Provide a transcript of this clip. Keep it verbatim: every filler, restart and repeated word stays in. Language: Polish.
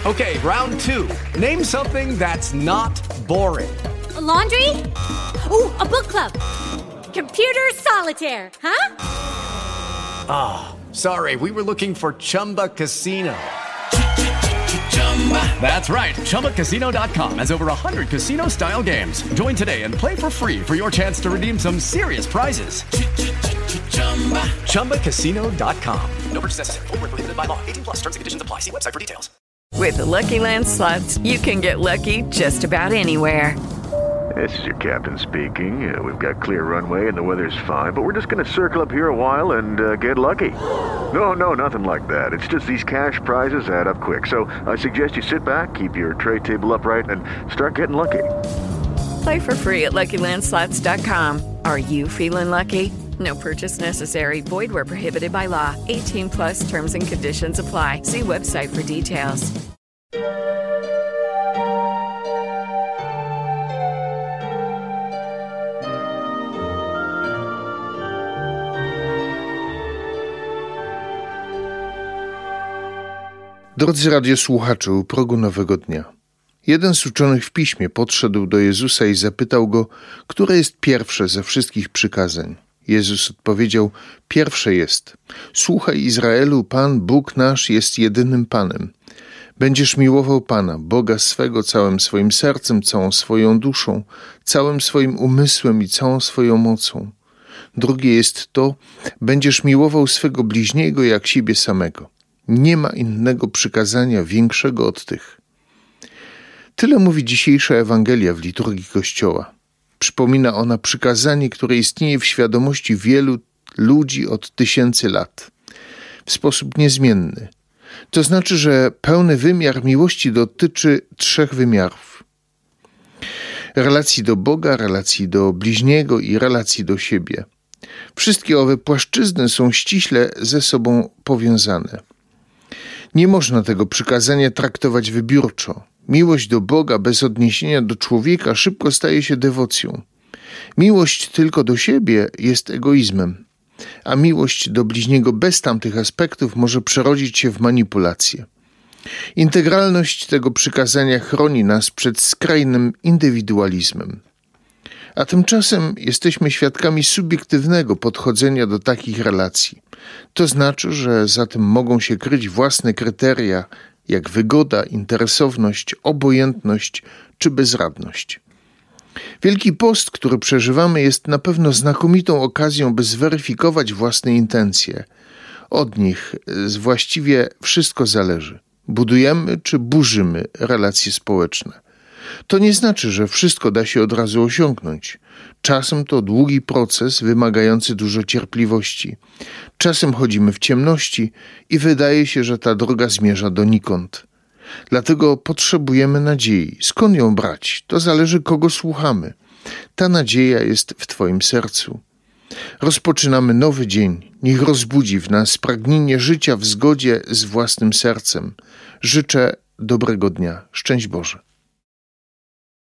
Okay, round two. Name something that's not boring. A laundry? Ooh, a book club. Computer solitaire, huh? Ah, oh, sorry, we were looking for Chumba Casino. That's right. Chumba Casino dot com has over one hundred casino-style games. Join today and play for free for your chance to redeem some serious prizes. Chumba Casino dot com. No purchase necessary. Void where prohibited by law. eighteen plus. Terms and conditions apply. See website for details. With the Lucky Land Slots, you can get lucky just about anywhere. This is your captain speaking. Uh, we've got clear runway and the weather's fine, but we're just going to circle up here a while and uh, get lucky. No, no, nothing like that. It's just these cash prizes add up quick. So I suggest you sit back, keep your tray table upright, and start getting lucky. Play for free at Lucky Land Slots dot com. Are you feeling lucky? No purchase necessary. Void where prohibited by law. eighteen plus terms and conditions apply. See website for details. Drodzy radiosłuchacze, u progu nowego dnia. Jeden z uczonych w piśmie podszedł do Jezusa i zapytał go, które jest pierwsze ze wszystkich przykazań. Jezus odpowiedział, pierwsze jest: słuchaj Izraelu, Pan, Bóg nasz jest jedynym Panem. Będziesz miłował Pana, Boga swego całym swoim sercem, całą swoją duszą, całym swoim umysłem i całą swoją mocą. Drugie jest to, będziesz miłował swego bliźniego jak siebie samego. Nie ma innego przykazania większego od tych. Tyle mówi dzisiejsza Ewangelia w liturgii Kościoła. Przypomina ona przykazanie, które istnieje w świadomości wielu ludzi od tysięcy lat. W sposób niezmienny. To znaczy, że pełny wymiar miłości dotyczy trzech wymiarów. Relacji do Boga, relacji do bliźniego i relacji do siebie. Wszystkie owe płaszczyzny są ściśle ze sobą powiązane. Nie można tego przykazania traktować wybiórczo. Miłość do Boga bez odniesienia do człowieka szybko staje się dewocją. Miłość tylko do siebie jest egoizmem, a miłość do bliźniego bez tamtych aspektów może przerodzić się w manipulację. Integralność tego przykazania chroni nas przed skrajnym indywidualizmem. A tymczasem jesteśmy świadkami subiektywnego podchodzenia do takich relacji. To znaczy, że za tym mogą się kryć własne kryteria, jak wygoda, interesowność, obojętność czy bezradność. Wielki Post, który przeżywamy, jest na pewno znakomitą okazją, by zweryfikować własne intencje. Od nich właściwie wszystko zależy. Budujemy czy burzymy relacje społeczne. To nie znaczy, że wszystko da się od razu osiągnąć. Czasem to długi proces wymagający dużo cierpliwości. Czasem chodzimy w ciemności i wydaje się, że ta droga zmierza donikąd. Dlatego potrzebujemy nadziei. Skąd ją brać? To zależy, kogo słuchamy. Ta nadzieja jest w Twoim sercu. Rozpoczynamy nowy dzień. Niech rozbudzi w nas pragnienie życia w zgodzie z własnym sercem. Życzę dobrego dnia. Szczęść Boże.